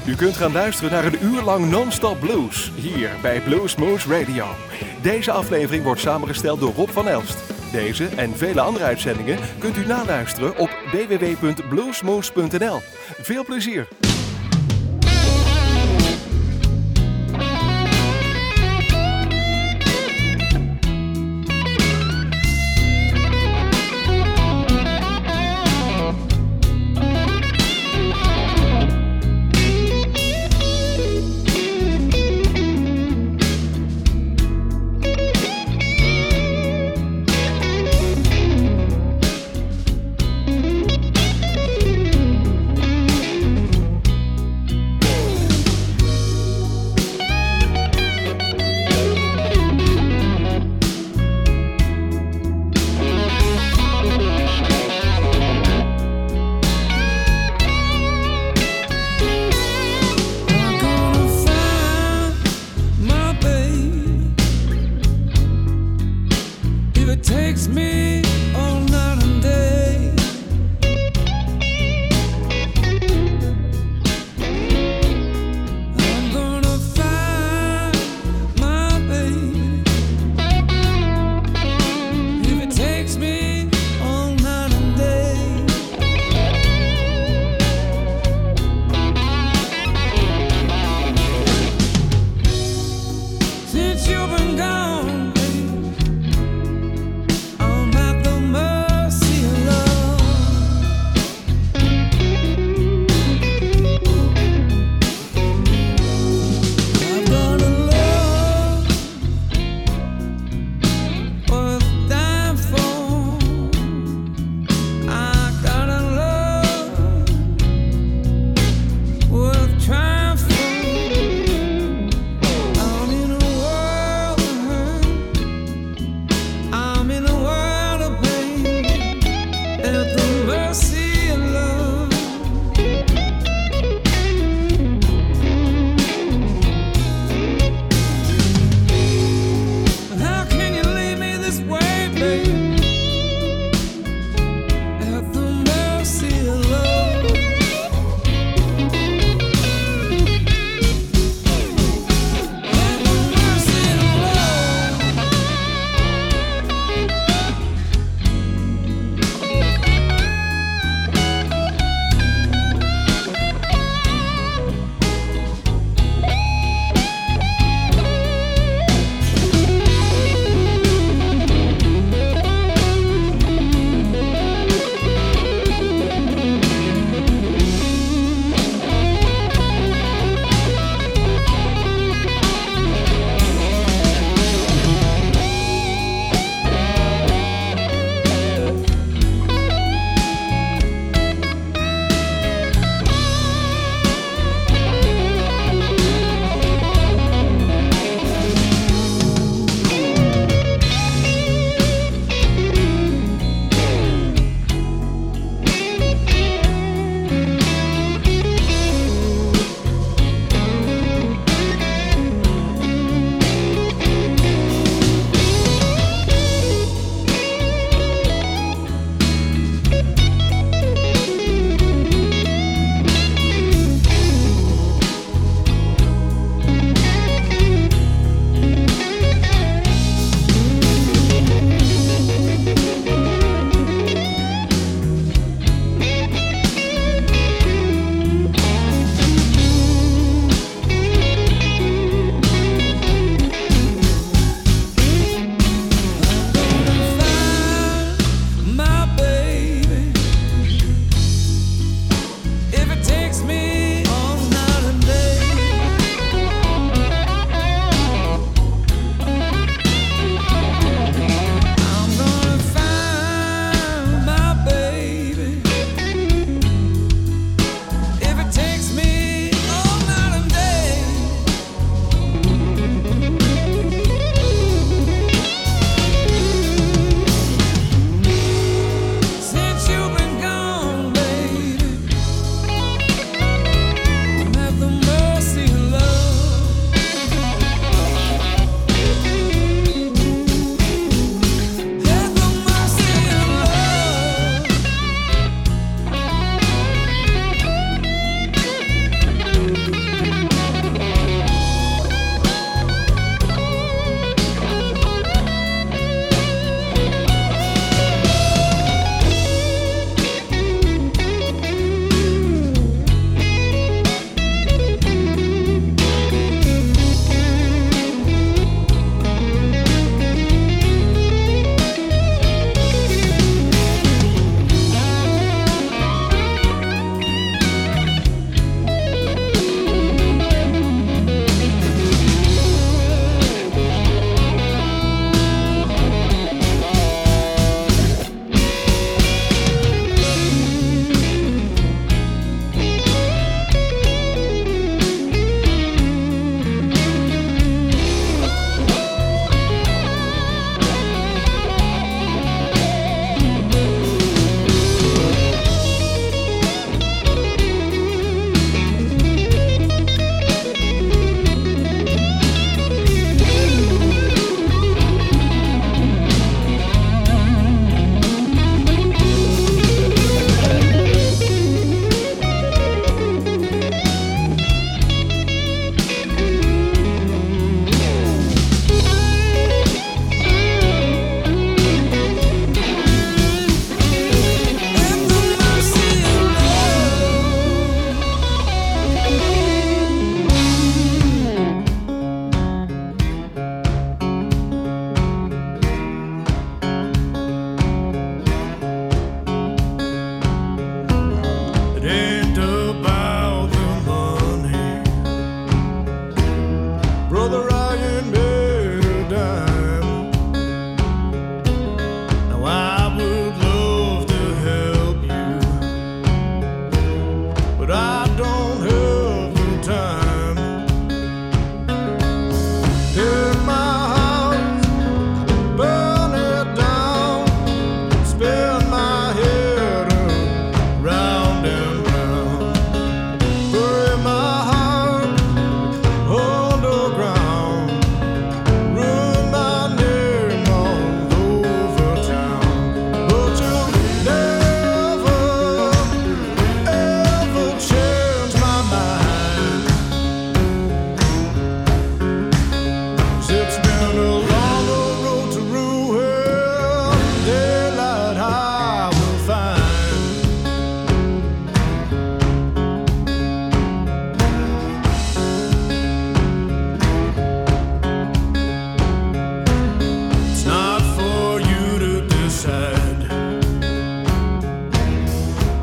U kunt gaan luisteren naar een uur lang non-stop blues, hier bij Bluesmoose Radio. Deze aflevering wordt samengesteld door Rob van Elst. Deze en vele andere uitzendingen kunt u naluisteren op www.bluesmoose.nl. Veel plezier!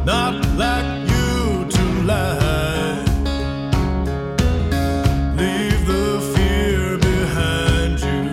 not like you to lie. Leave the fear behind you.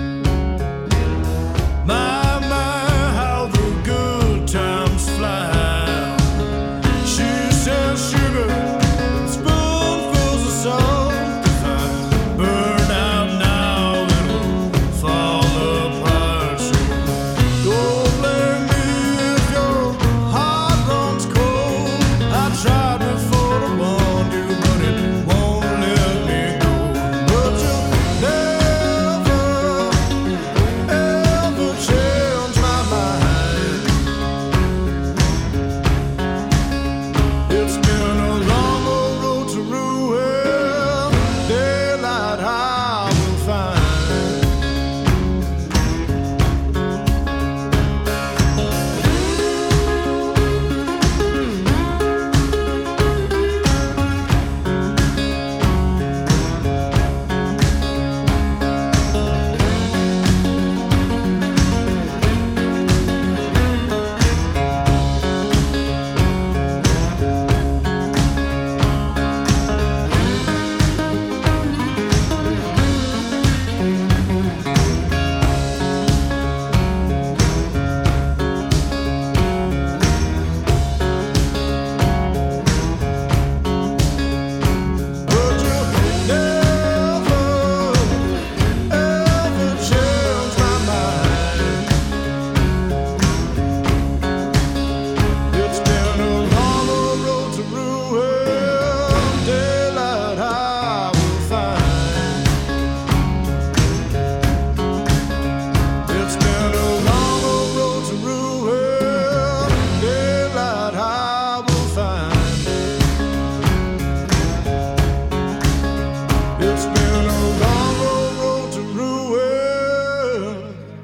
My, how the good times fly. She says sugar, spoonfuls of salt. If I burn out now, it'll fall apart. So don't blame me if your heart runs cold. I tried before to warn you, but it won't let me go. But you'll never, ever change my mind. It's been a long old road to ruin. Daylight I will find. But you'll never, ever change my mind. It's been a long old road to ruin. Daylight I will find. It's been a long old road to ruin. Daylight I will find. It's been a long old road to ruin.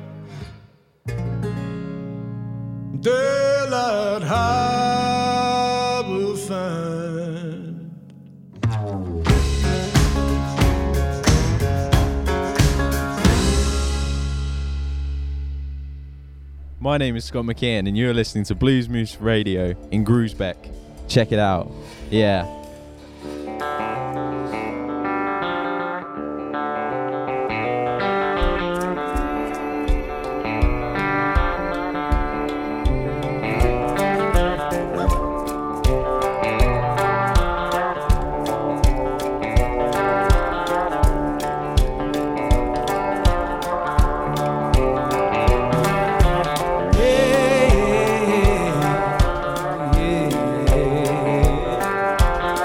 Daylight I will find. My name is Scott McKeon, and you're listening to Blues Moose Radio in Groesbeck. Check it out. Yeah. Yeah.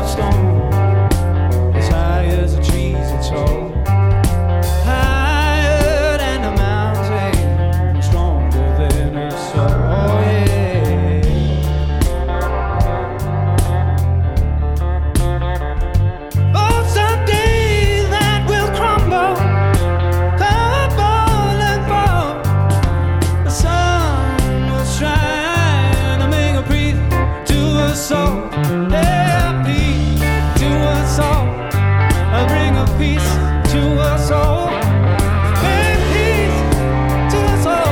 stone, as high as the trees it's tall, higher than the mountain, stronger than a soul. Oh yeah. Oh, someday that will crumble, tumble and fall. The sun was trying to make a breathe to us all. Yeah, peace to us all. I'll bring a peace to us all. Bring peace to us all.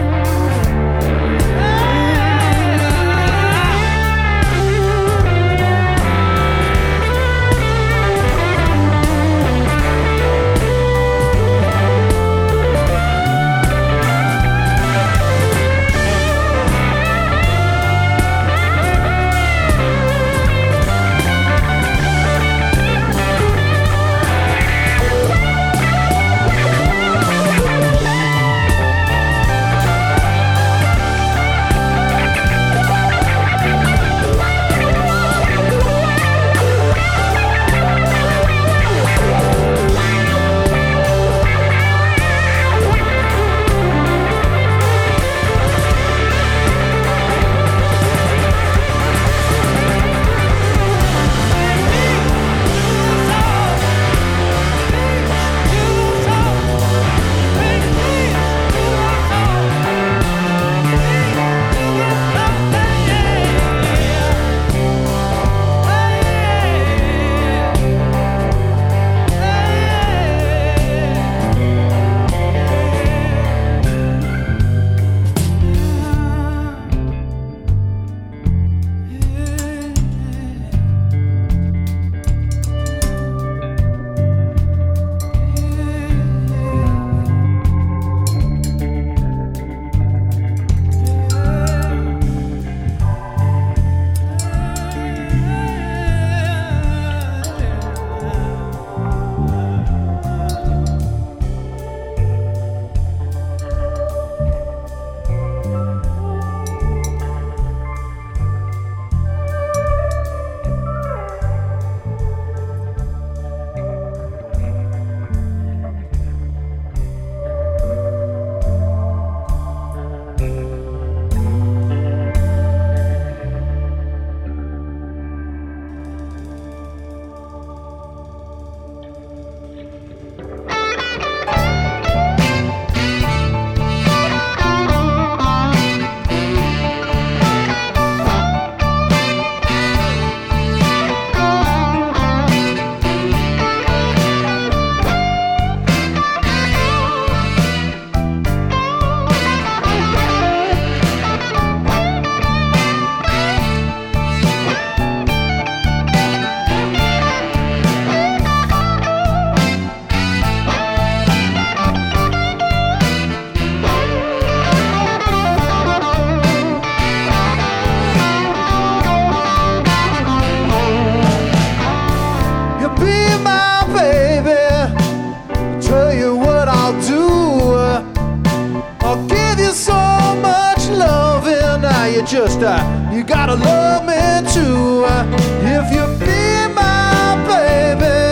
Just you gotta love me too. If you be my baby,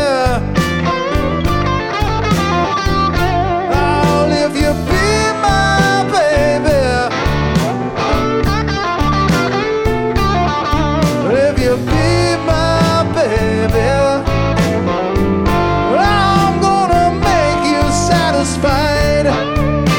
oh, if you be my baby, if you be my baby, I'm gonna make you satisfied.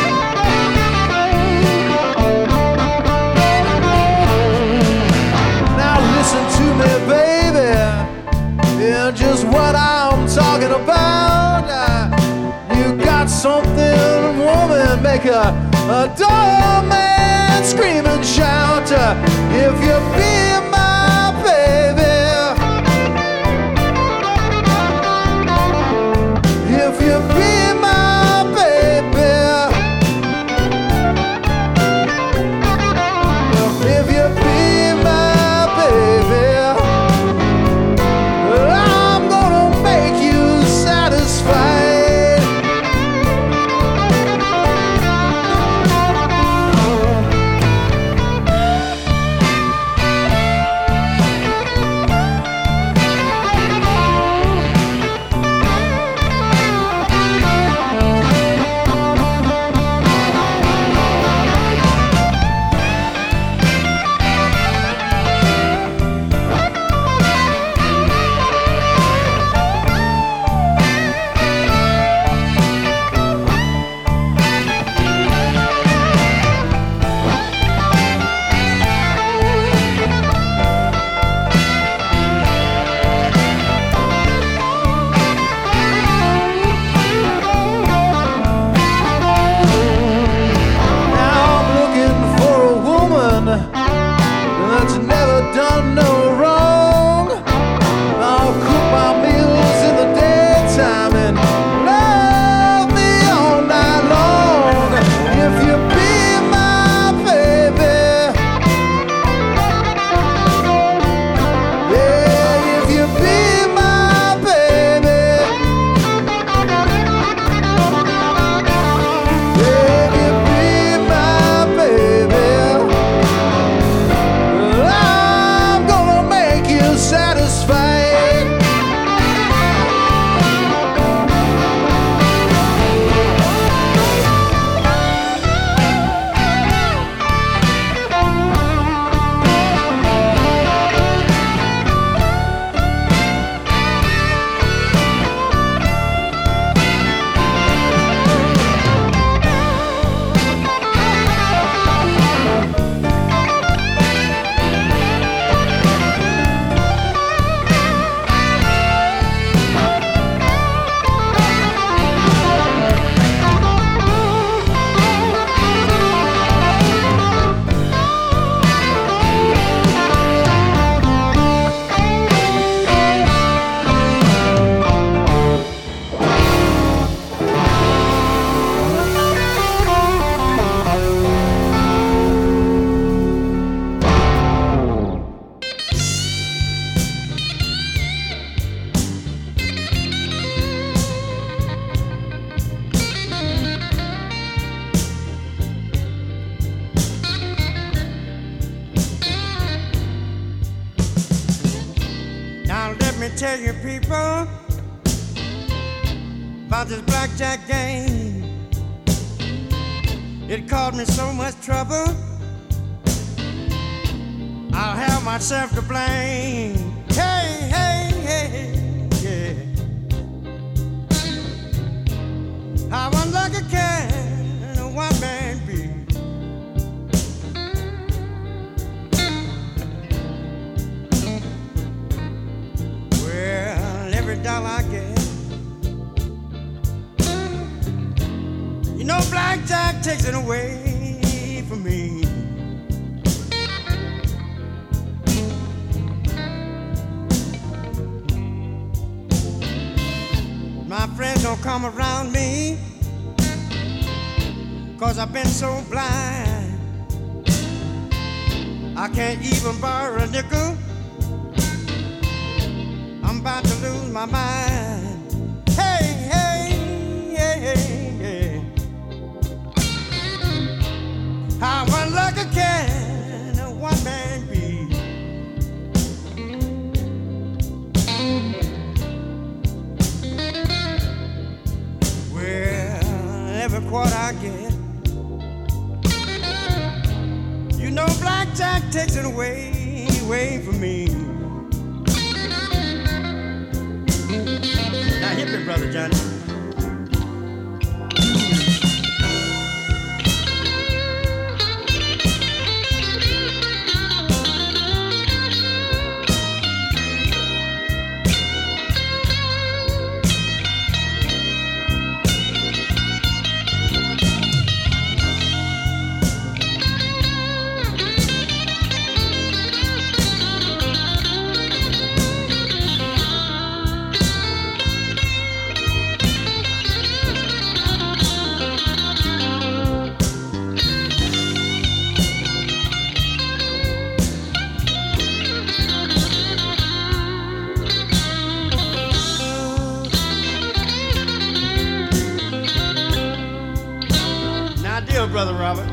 Just what I'm talking about. You got something, woman, make a dull man scream and shout. If you be my baby, if you be my baby, if you be my baby, me tell you people about this blackjack game. It caused me so much trouble, I'll have myself to blame. Hey, hey, hey, yeah. How unlucky can a one man be? Well, every dollar I get, you know, blackjack takes it away from me. My friends don't come around me 'cause I've been so blind. I can't even borrow a nickel. I'm about to lose my mind. Hey, hey, hey, hey, hey. How unlucky can a one man be? Well, every quarter I get, you know, blackjack takes it away from me. Now hit me, Brother Johnny. Brother Robert.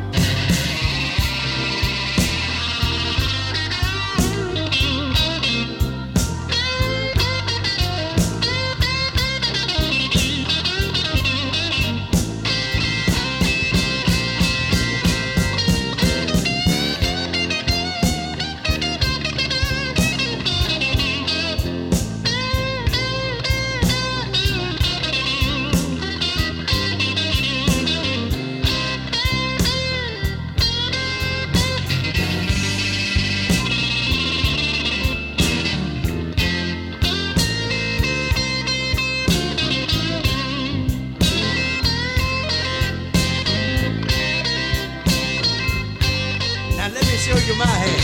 Show you my hand.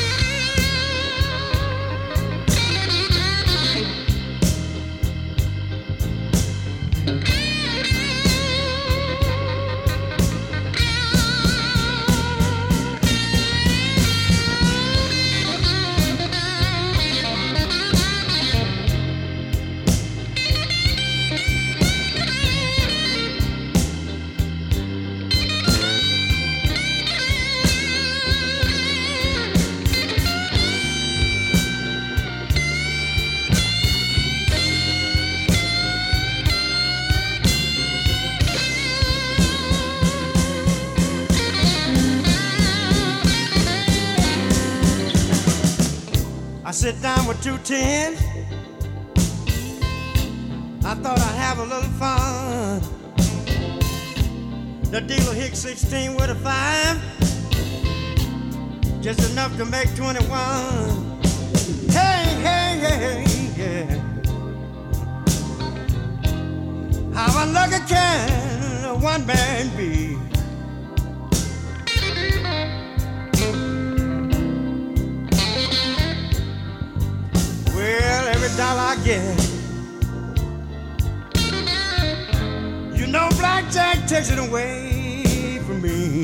I sit down with 2 tens. I thought I'd have a little fun. The dealer hit 16 with a 5, just enough to make 21. Hey, hey, hey, yeah. How unlucky can a one man be? Well, every dollar I get, you know, blackjack takes it away from me.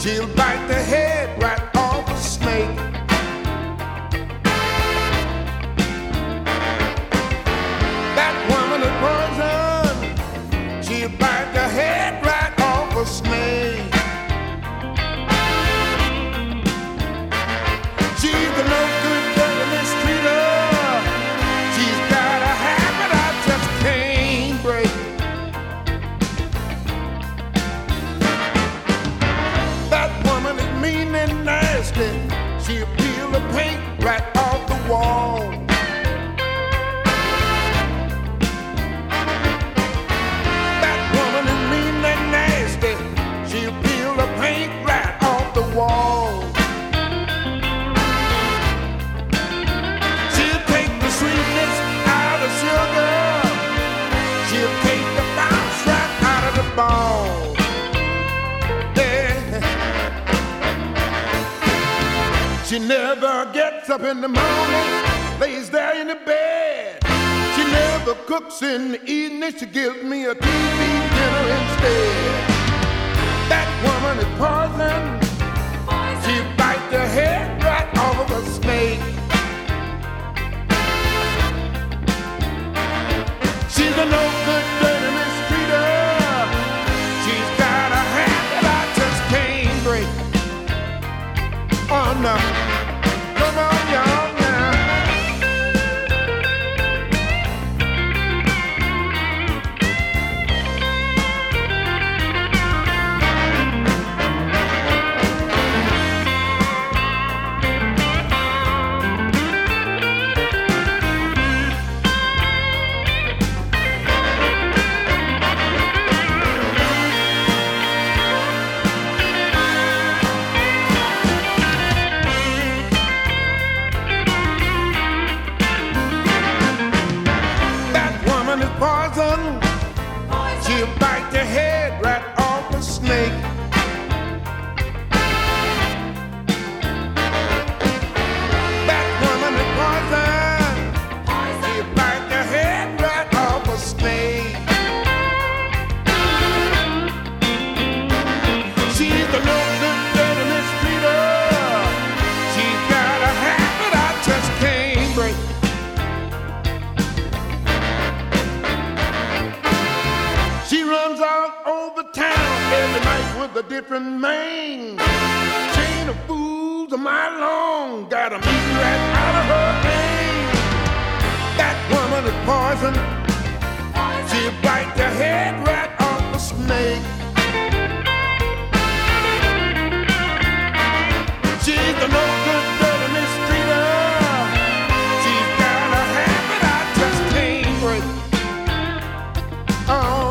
She'll bite the head right off a snake. That woman is poison. She'll bite the head right off a snake. She's the no good dirty mistreater. She's got a habit I just can't break. That woman is mean and nasty. She'll peel the paint right off the wall. That woman is mean and nasty. She'll peel the paint right off the wall. She'll take the sweetness out of sugar. She'll take the bounce right out of the ball. She never gets up in the morning, lays there in the bed. She never cooks in the evening, she gives me a TV dinner instead. That woman is poison. She bites the head right off of a snake. She's a no good dirty mistreater. She's got a hand that I just can't break. Oh no, come on y'all now. Poison. She'll bite the head right off a snake. That woman is poison. She'll bite the head right off a snake. She's the no good dirty mistreater. She's got a habit I just can't break. She runs all over town every night with a different man. Chain of fools a mile long, got a meat right out of her hand. That woman is poison. She'll bite the head right off the snake. She's the no good dirty mistreater. She's got a habit I just can't break. Oh.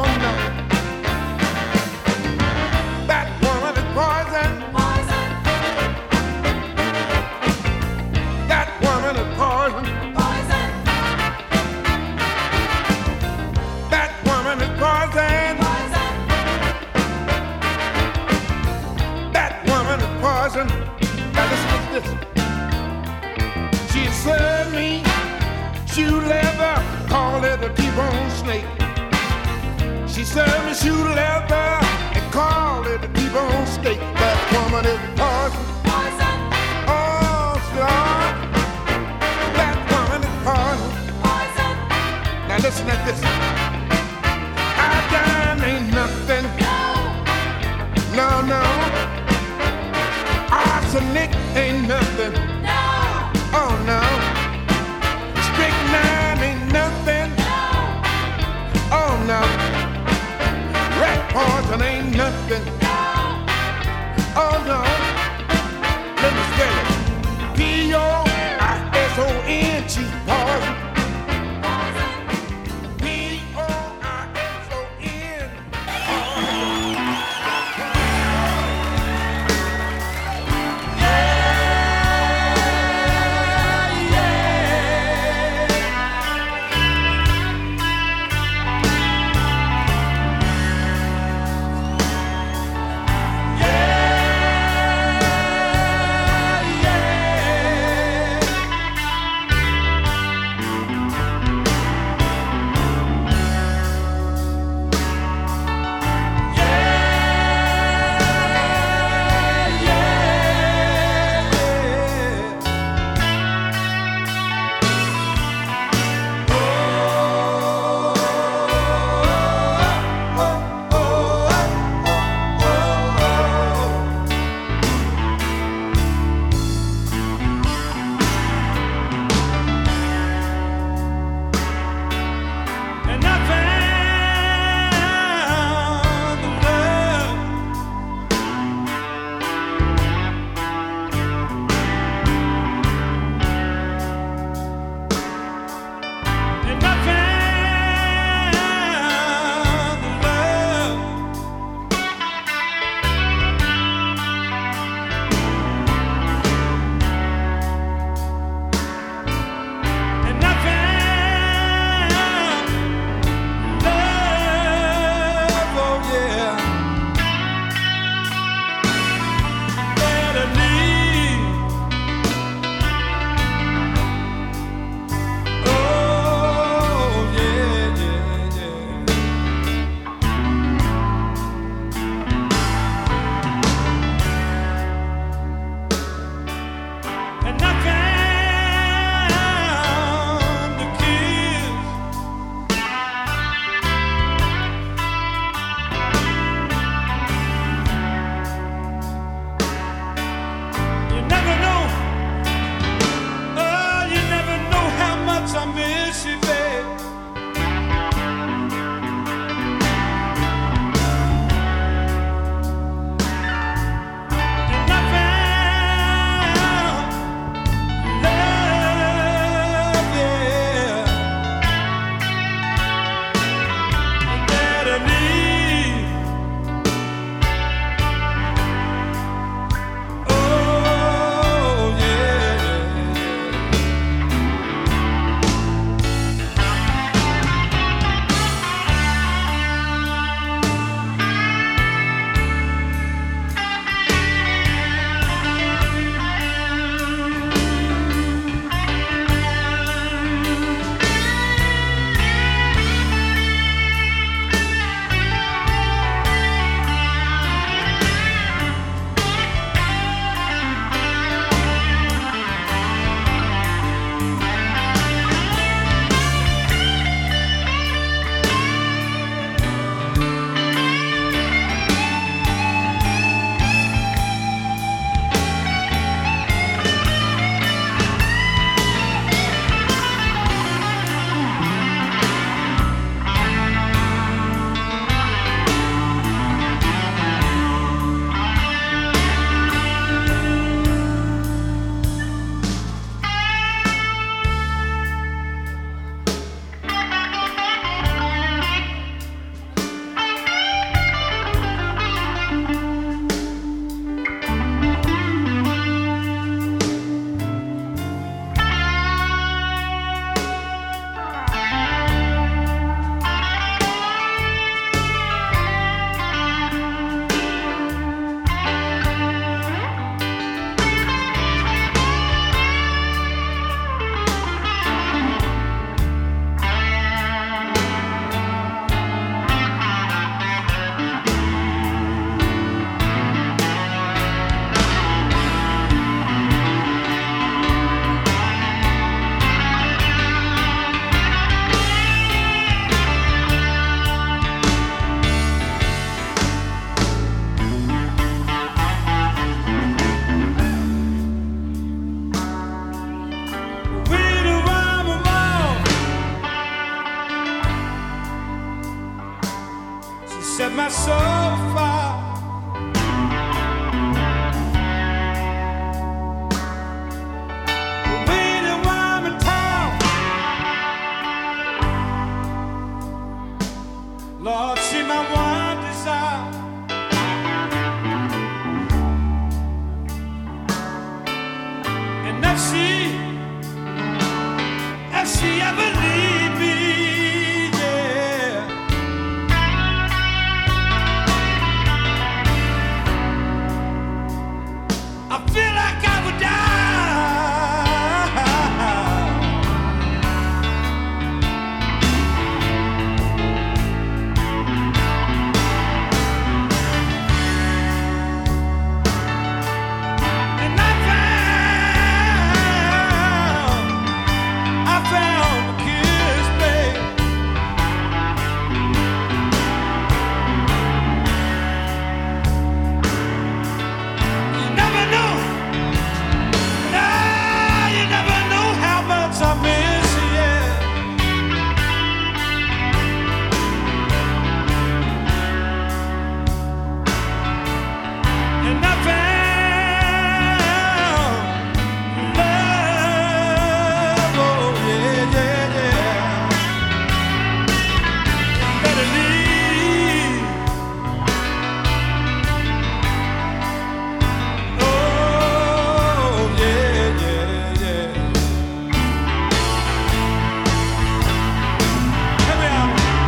Now listen to this. She served me shoe leather, call it a T-bone snake. She served me shoe leather and call it a T-bone steak. That woman is poison. Poison. Oh, Lord. That woman is poison. Poison. Now listen to this. Iodine ain't nothing. No, no. Arsenic ain't nothing. No. Oh no. Strychnine ain't nothing. No. Oh no. Rat poison ain't nothing. No. Oh no. Let me spell it. P-O-I-S-O-N. She's poison. P-O-I-S-O-N. feel like I would die. And I found a kiss, babe. You never know. Nah, you never know how much I miss you, yeah. And I found love, oh yeah, yeah, yeah. Better leave. Oh yeah, yeah, yeah. Come here.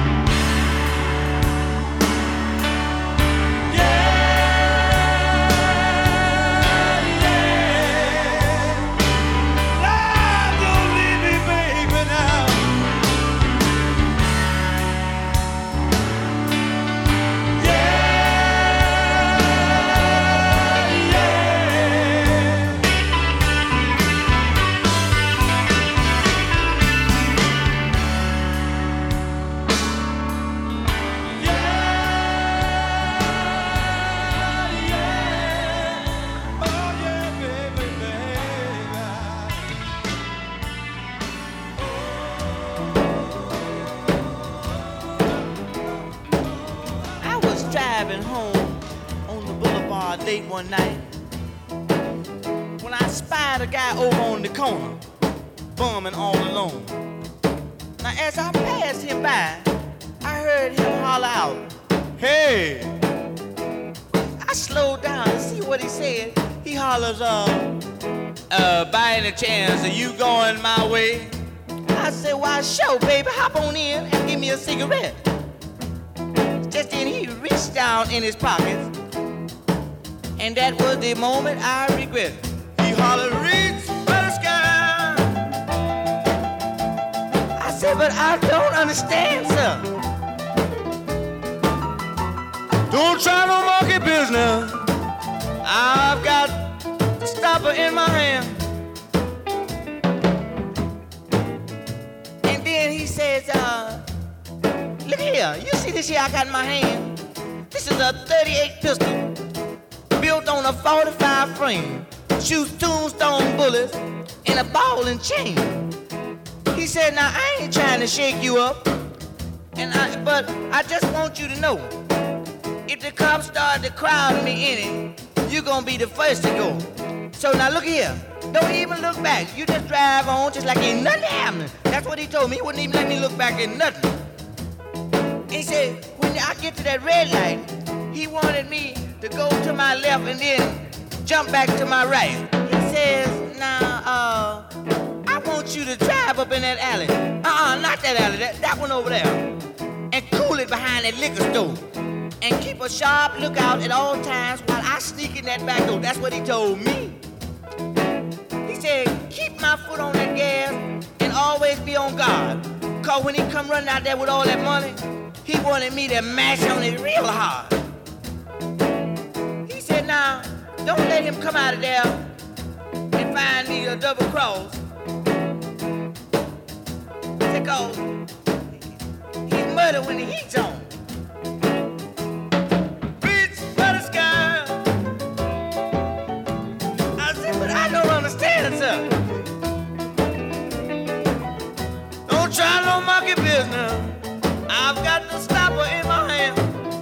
Love, don't leave me, baby, now. I was driving home on the boulevard late one night when I spied a guy over on the corner, bumming all alone. Now as I passed him by, I heard him holler out, "Hey!" I slowed down to see what he said. He hollers, by any chance, are you going my way? I said, why, sure, baby, hop on in and give me a cigarette. Just then he reached down in his pockets, and that was the moment I regret. He hollered, reach for the sky. I said, but I don't understand, sir. Don't try no monkey business. I've got a stopper in my hand. And then he says, look here, you see this here I got in my hand? This is a 38 pistol, built on a 45 frame, shoots tombstone bullets and a ball and chain. He said, now I ain't trying to shake you up, but I just want you to know, if the cops start to crowd me in it, you're gonna be the first to go. So now look here, don't even look back. You just drive on just like ain't nothing happening. That's what he told me. He wouldn't even let me look back at nothing. He said, when I get to that red light, he wanted me to go to my left and then jump back to my right. He says, now, I want you to drive up in that alley. Not that alley, that one over there. And cool it behind that liquor store. And keep a sharp lookout at all times while I sneak in that back door. That's what he told me. He said, keep my foot on that gas and always be on guard. Cause when he come running out there with all that money, he wanted me to mash on it real hard. He said, now, don't let him come out of there and find me a double cross. Because he's murder when the heat's on. Reach for the sky. I said, but I don't understand, sir. Don't try no monkey business. I've got the stopper in my hand.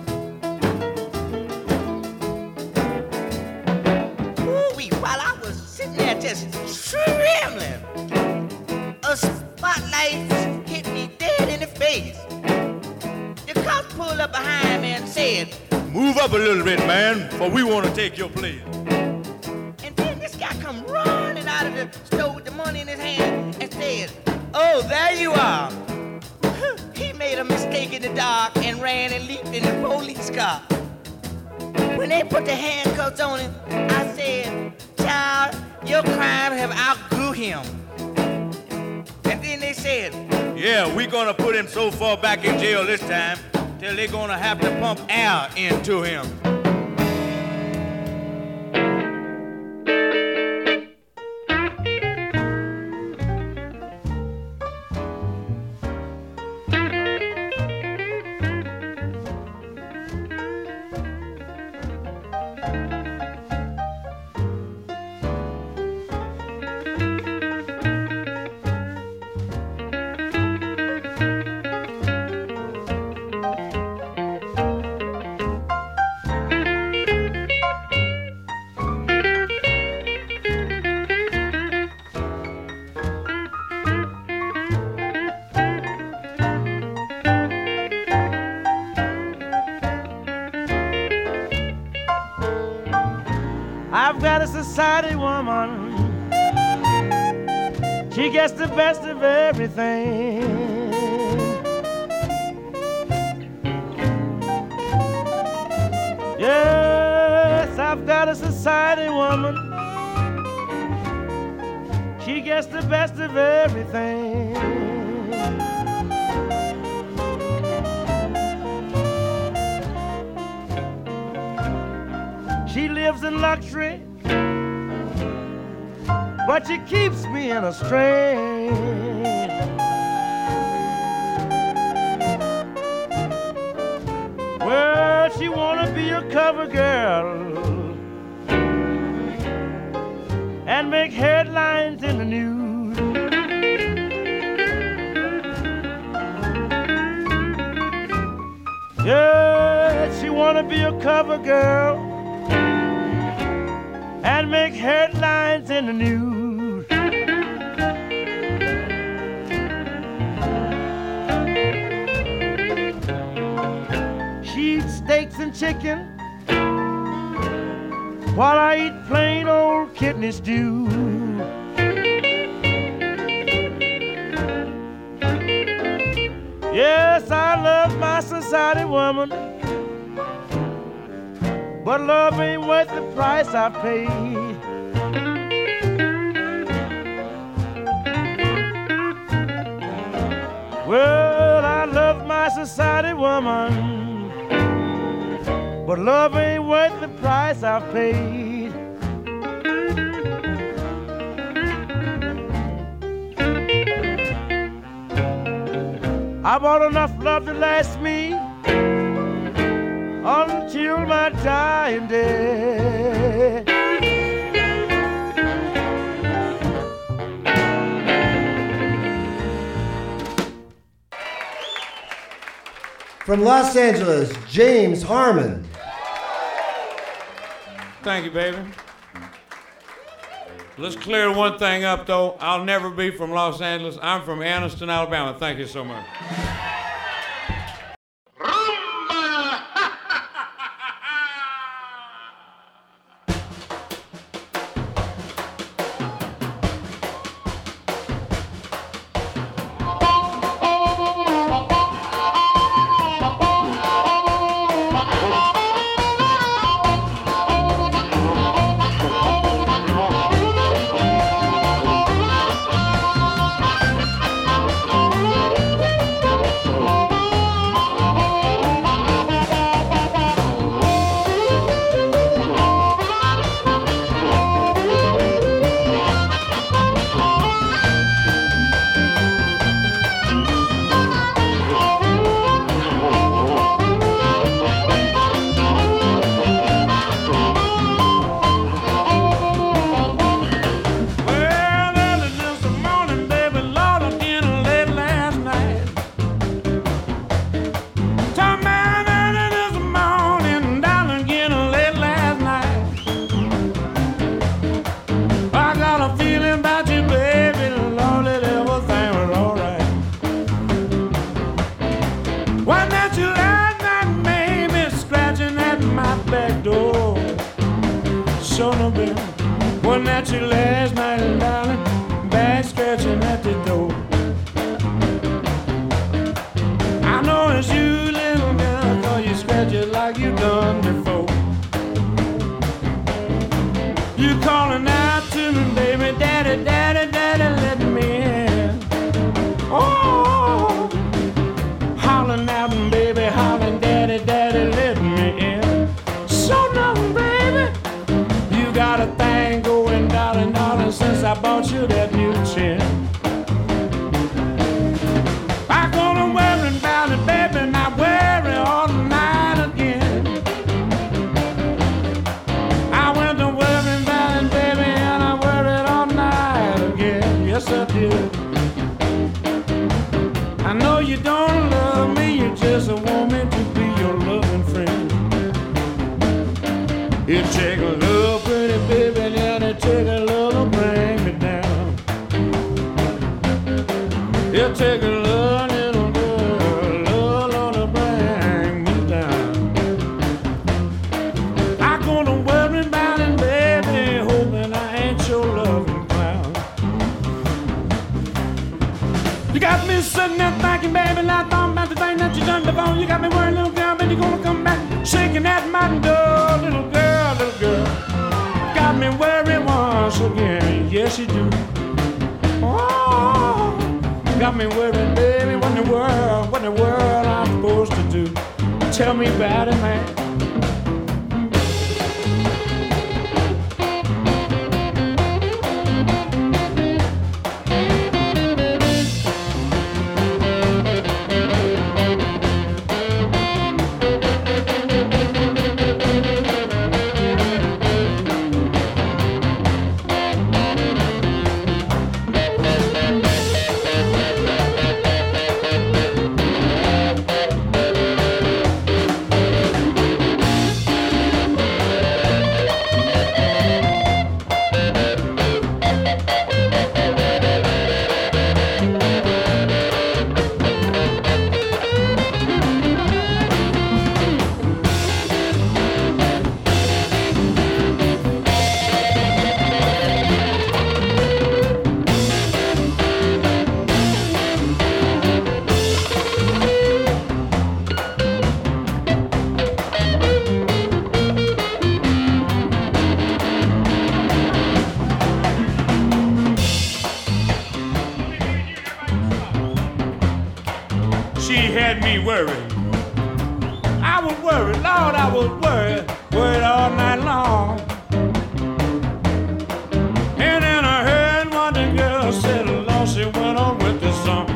Ooh-wee, while I was sitting there just trembling, a spotlight hit me dead in the face. The cops pulled up behind me and said, Move up a little bit, man, for we want to take your place. and then this guy come running out of the store with the money in his hand and said, oh, there you are. He made a mistake in the dark and ran and leaped in the police car. When they put the handcuffs on him, I said, child, your crime have outgrew him. And then they said, yeah, we're gonna put him so far back in jail this time till they're gonna have to pump air into him. I've got a society woman. She gets the best of everything. Yes, I've got a society woman. She gets the best of everything. She lives in luxury, but she keeps me in a strain. Well, she wanna be a cover girl and make headlines in the news. Yeah, she wanna be a cover girl and make headlines in the news. She eats steaks and chicken while I eat plain old kidney stew. Yes, I love my society woman, but love ain't worth the price I paid. Well, I love my society woman, but love ain't worth the price I've paid. I bought enough love to last me until my dying day. From Los Angeles, James Harmon. Thank you, baby. Let's clear one thing up, though. I'll never be from Los Angeles. I'm from Anniston, Alabama. Thank you so much. Wasn't that you last night, darling? Back scratching at the door. I know it's you, little girl, 'cause you scratch it like you done before. You calling out to me, baby. I bought you that new chin. I'm gonna worry about it, baby, not worry all night again. I went to worry about it, baby, and I worried all night again. Yes, I did. I know you don't love me, you just want me to be your loving friend. You take a little pretty baby, then you take a little bring me down. You take a little girl, little bring me down. I'm gonna worry about it, baby, hoping I ain't your loving clown. You got me sitting there thinking, baby, not thought about the thing that you done before. You got me worried, little girl, but you gonna come back shaking at my door, little girl, little girl. Got me worried once again, yes you do. Oh, got me worried, baby, what in the world I'm supposed to do? Tell me about it, man. She had me worried. I was worried, Lord, I was worried all night long. And then I heard what the girl said, Lord, she went on with the song.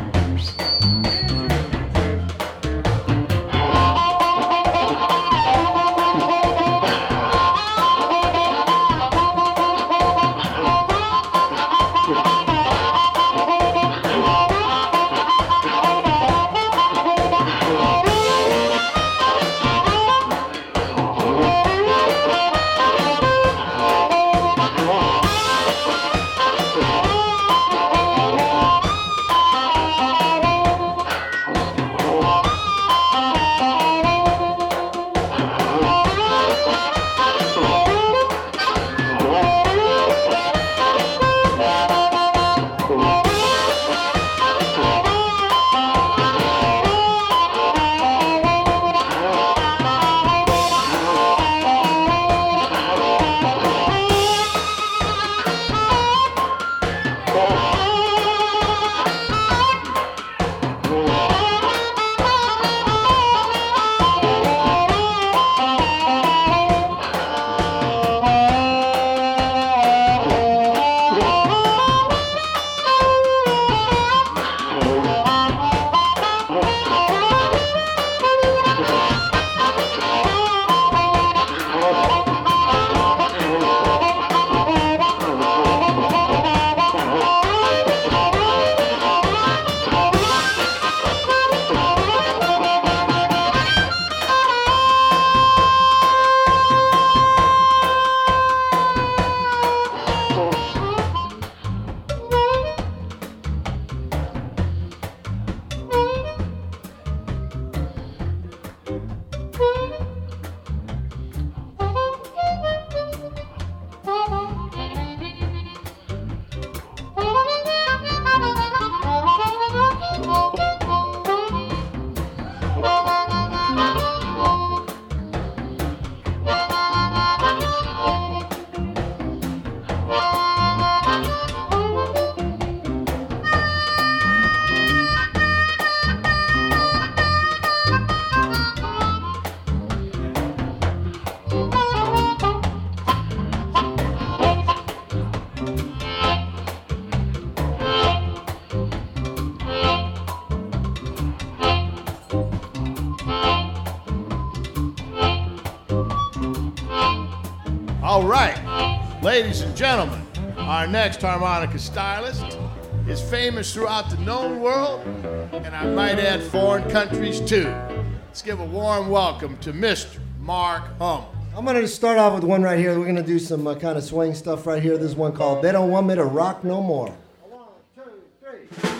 right, ladies and gentlemen, our next harmonica stylist is famous throughout the known world, and I might add foreign countries too. Let's give a warm welcome to Mr. Mark Hummel. I'm going to start off with one right here. We're going to do some kind of swing stuff right here. This is one called They Don't Want Me to Rock No More. 1, 2, 3.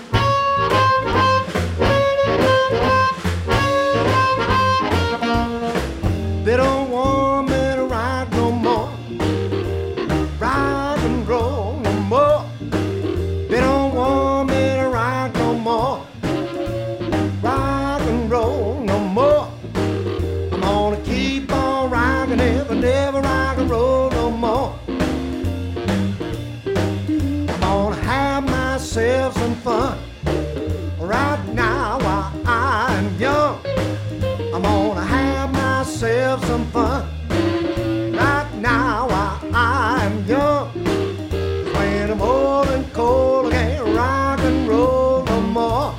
They don't want me to rock no more, rock and roll no more. They don't want me to rock no more, rock and roll no more. I'm gonna keep on rocking, never rock and roll no more. I'm gonna have myself some fun right now while I'm young. I'm gonna have myself some fun right now while I'm young. When I'm old and cold, I can't rock and roll no more.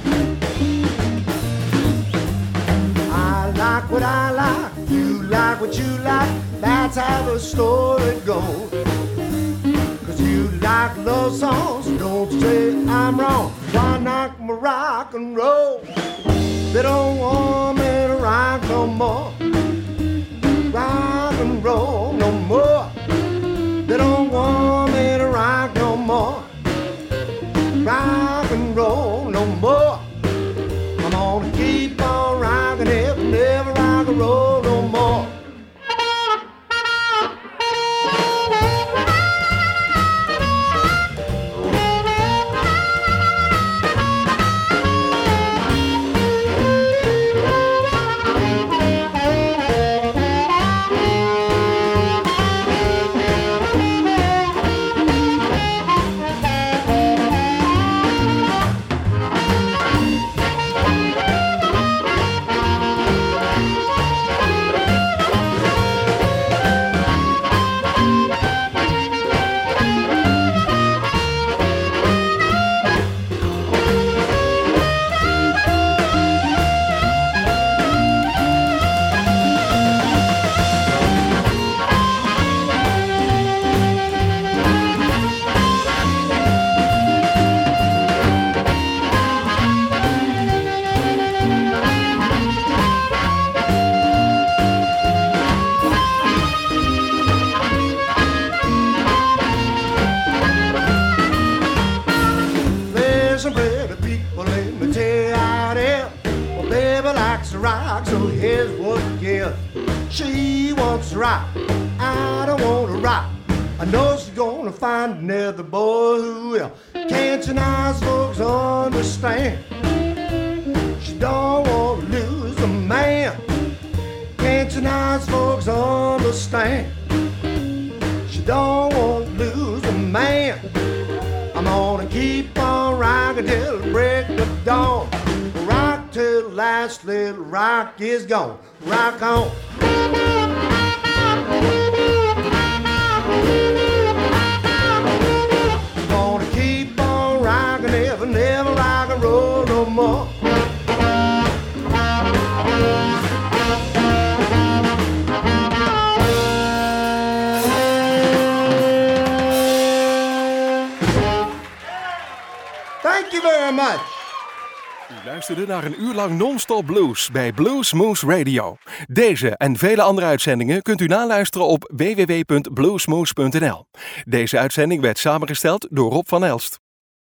I like what I like, you like what you like, that's how the story goes. 'Cause you like love songs, don't say I'm wrong. Why not my rock and roll? They don't want me to rock no more, rock and roll no more. They don't want me to rock no more, rock and roll no more. I'm gonna keep on rocking it, never rock and roll no more. Rock, so here's what you give. She wants to rock, I don't want to rock. I know she's gonna find another boy who will. Can't you nice folks understand? She don't want to lose a man. Can't you nice folks understand? She don't want to lose a man. I'm gonna keep on rocking till the break of dawn. Rock till the last little rock is gone. Rock on. Gonna keep on rocking, never rock and roll no more. Thank you very much. U luisterde naar een uur lang non-stop blues bij Blues Moose Radio. Deze en vele andere uitzendingen kunt u naluisteren op www.bluesmoose.nl. Deze uitzending werd samengesteld door Rob van Elst.